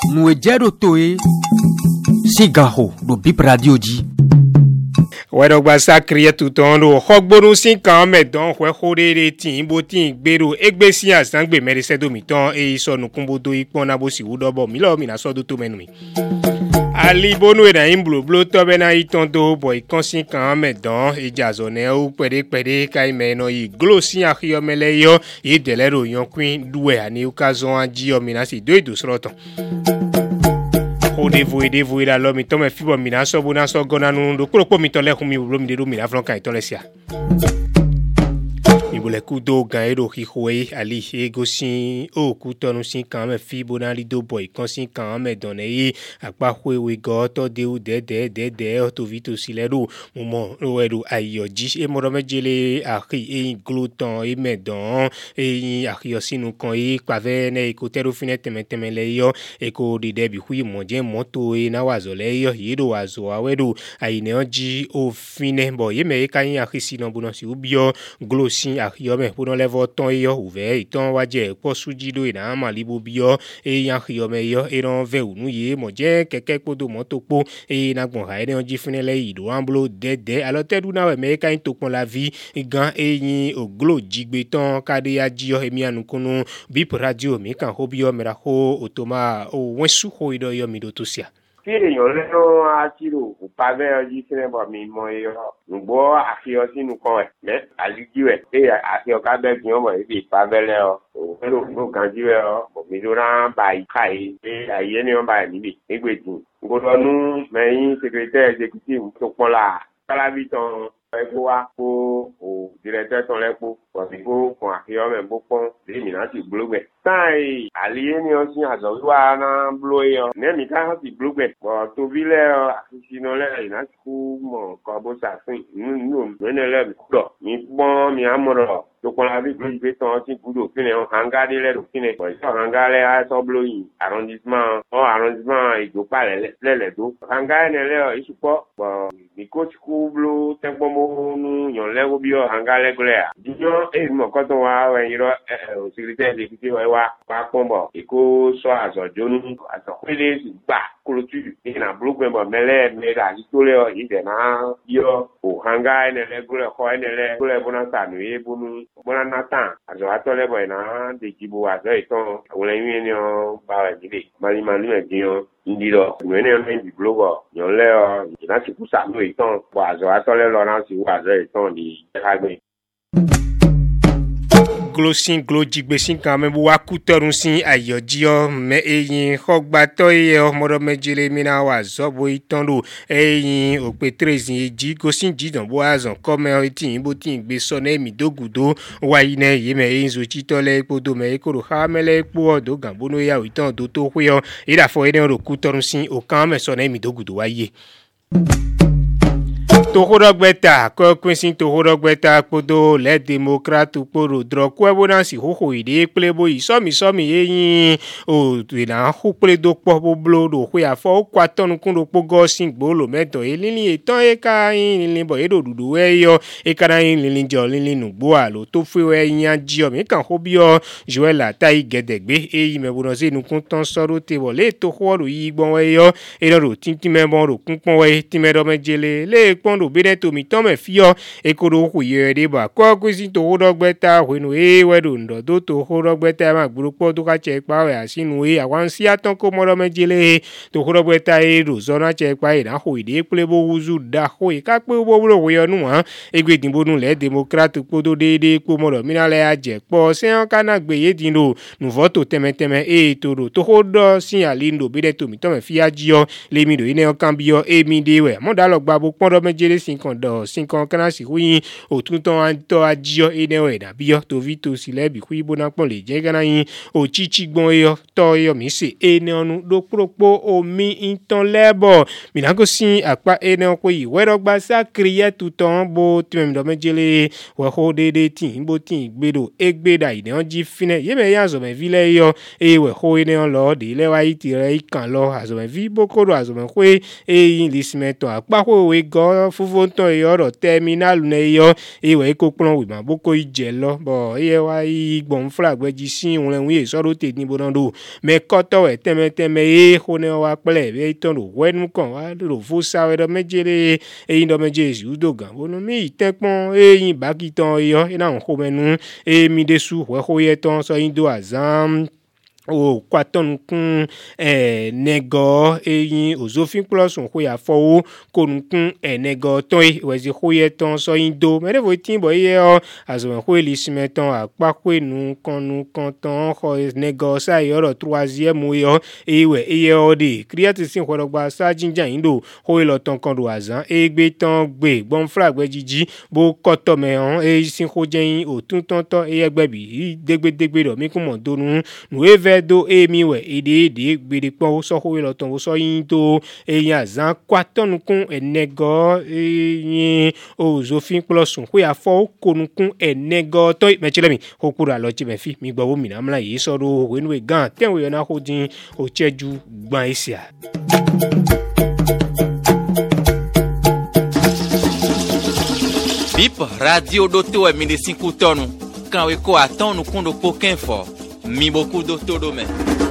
nous ejero toe sigaho do bip radio di wẹ́dọ̀gba sákìrìyẹ tuntun ro xɔgbónú sí kan mẹ́dán xɔxóréere tí bó tí gbèrò égbé sí àzáǹgbè mẹ́rìsẹ́dọ̀mí tán èyí sọnù kúnbodò ìpọ́n náà bó sì wú dọ́bọ̀ mílíọ̀nù mìíràn sọ́dún tó mẹ́nu mi. alibonu ìdáyìn blóbló tọ́bẹ̀ náà ìtàn tó bọ̀ ìkan sí kan mẹ́dán ìjà zọ̀nẹ́ ó pẹ̀dẹ́pẹ̀dẹ́ káìmẹ́ náà yìí glo sí àkíyọ́mẹ́lẹ́yọ́ yìí dẹ̀lẹ́rò yankun dùwẹ̀ àní ó ká zọ́n ajíyọ́mí náà sì dó ìdòsọ́rọ̀ tán. Devoe la lo mi to me fibo mi na so bo na so gona nu do kuro po mi to le khumi ro mi de do mi na fron kan to le sia ibole kudo gan ero hihoe ali egosin o kutonu sin kan me fibo na lido boy kan sin kan me don e apa hwewe go to de u de to vito silero mo ro ero ayoji e mo ro mejele akhi e gluton e me don e akhi sinu kan e pave ne ko tero fine teme le yo e ko de debi hui mo je moto e na wazo le yo yiro wazo awedo aine oji o fine bo ye me kan akhi sinu bu no si ubio glosin akhiome pour levo ton yo ouvert iton waje po sujido ina malibo bio e yan khiome yo e ron ve unu ye mo je keke podo moto po e na gbon ha ene onji finele ido amblo dede alo tedu na we me kan to pon la vie gan e yin oglo jigbe ton kade ya jiyo emi anukunu bip radio mi kan hobio mera ho otoma o wensu ho ido yo mi do tosia tí èèyàn lẹ́nu àtìrò kò pa bẹ́ẹ̀ ọjí sínẹ́bọ̀ mi mọ ẹyọ ǹgbọ́ àfihàn sínú kan ẹ̀ mẹ́ àlíjú ẹ̀ pé àfihàn kábẹ́ fi hàn mọ̀ ibi ìpavẹ́lẹ́ ọ òun ló kàn jí rẹ ọ òmí ló rán ba ìka yìí pé àyè ni wọ́n bá ẹ̀ níbi nígbèjì ngbọ́dọ̀nù mẹ́yìn sẹkẹrẹtẹ́ ẹ̀jẹ̀kìtìmù tó pọ́n la kálábì tán ẹ̀kọ́ wa kó o dìrẹ́tẹ́ tán lẹ́kọ́ kọ̀sìkó kan àfihàn mẹ́ bó pọ́n lèmi náà ti gbólógbẹ̀. táì àlìyé ni ọ sí àzọ wíwá náà bló yọ nẹ́ẹ̀mí ká hàn sí gbólógbẹ̀ bọ̀ tóbi lẹ́ ọ àfihàn lẹ́yìn láti kú mọ̀ nǹkan bó ṣàfihàn nínú mẹ́nẹ́lẹ́ mi kúdọ̀ mi pọ́n mi àmọ̀rọ̀ tokola bi gbé tán tí gbúdọ̀ fínẹ̀ hangade lẹ́rù fínẹ̀ bọ̀ ìṣọ́ hangalẹ̀ àìsọ́bló yìí arrondissement ìjọba lẹ́lẹ́dó hangale lẹ́ ìṣùpọ̀ bọ̀ nìkóṣìkú bló tẹ́gbọ́mọ́nú yànlẹ́wọ́ bí ọ hangalẹ̀ gblẹ̀ à jíjọ́ èyí mọ̀ kọ́tọ̀ wa ẹ̀yìn rọ òsìrìtẹ́ ẹ̀dẹ́gbẹ́ wa pọ́n bọ̀ èkó sọ àzọ̀jónú àzọ̀pẹ́lẹ́ sì gbà kolotu ina blogbe bo mele mera itole o ide na yo o hanga enele gole ko enele gole bona sanu e bonu bona natan azo atole bo na de jibo azo iton awon yin ni o ba wa jide mali me dion ndiro nwene on di blogo yo le o ina ti ku sanu iton bo azo atole lo na si wa azo iton di kagbe glosin glojigbesin kan me wa kutorun sin ayojio me eyin khogbato ye omodo mejele mina wa zobo itando eyin ope 13 eji gosin jidan bo azan come tin bo tin gbe so na emi dogudo wa ine ye me eyin zo chitole epodo me ekoro khamele epo odo gambono ya itan do to hwe ira fo ene ro kutorun sin o kan me so na emi dogudo wa ye tohodogbeta ko kwinsin tohodogbeta podo le democrat poro droko ebonansi hoho ide plebo isomi yin o na hopele do po blo do hwe afo kwa tonu kun do pogo sin gbolo meto elili etan e ka yin lin bo edo dudu eyo e kana yin lin jo lin nugbo alo to fe yin aji mi kan hobio joela tai gedegbe eyi mebonansi nu kun ton soro te wole to horo yi gbon eyo e ro tintin mebon ro kun pon we timedo mejele le pon do bere to mi tome fio ekoro ku ye de ba ko kwisi to hodogbeta wenu e wedo ndo do to hodogbeta ma gburupo to ka che pa we asinu e awan si aton ko moro mejele to hodogbeta e ro zona che pa e na ho ide plebo uzu da ho e ka pe bo bro we onu han egbe dinbo nu le democrat podo dede po moro minale aje po se an kana gbe ye dinro nu voto temeteme e toro to hodo sin alindo bere to mi tome fi ajio le mi do ine o cambio e mi de we mo da lo gba bo pon do mejele sinkan kana si huyin otunton anto ajio ene eda biyo to vito silebi hui bona pon le je kana yin o chichi gbon yo to yo mi se ene onu do propo omi inton lebo mi na go sin apa ene ko yi werogba sakriye tuton bo timem do mejele we ho dede tin bo tin gbedo egbeda ide on ji fine ye me yanzo me vile yo e we ho ene on lo de le wa iti re ikan lo azo me vi bokoro azo me hwe e yin lismeto apa ho we go fuvonton yoro terminal ne yo ewe ko plan we ma boko ije lo bo ye wa igbon flagbe ji sin won len so ro te ni bonando me koto we teme e ho ne wa pele be ton ro wenu kan wa ro fo sa we do mejere e ndo meje ju do gan bono mi tekpon e yin bakiton yo e na ho menu e mi desu we ho ye ton so yin do azam o kwaton kun nego eyin ozofin plus on ko ya fowo kon kun nego ton we zi ko ye ton so indo me de votin bo ye o azo ko elisime ton apa ko nu kan ton ko nego sa yoro 3e yo ewe eye o de create sin ko gba sa jinja indo ko lo ton kan do azan egbe ton gbe bon flag gbe jiji bo koto me on e sin ko jen o tun ton to eye gbe bi degbe do mi kun mo donu nu do emi we ede gbede pon so ko lo ton so yin to eyan zan kwaton kun enego yin ozofin plus ko ya fo konukun enego to mechilemi ko kura lo ti me fi mi gbo mi na mla yi so do we nu gan ten we na ko din o cheju gban isia Bip radio doto e mi de 5 tonu kan we ko atonu kun do pokin fo mi beaucoup doto do me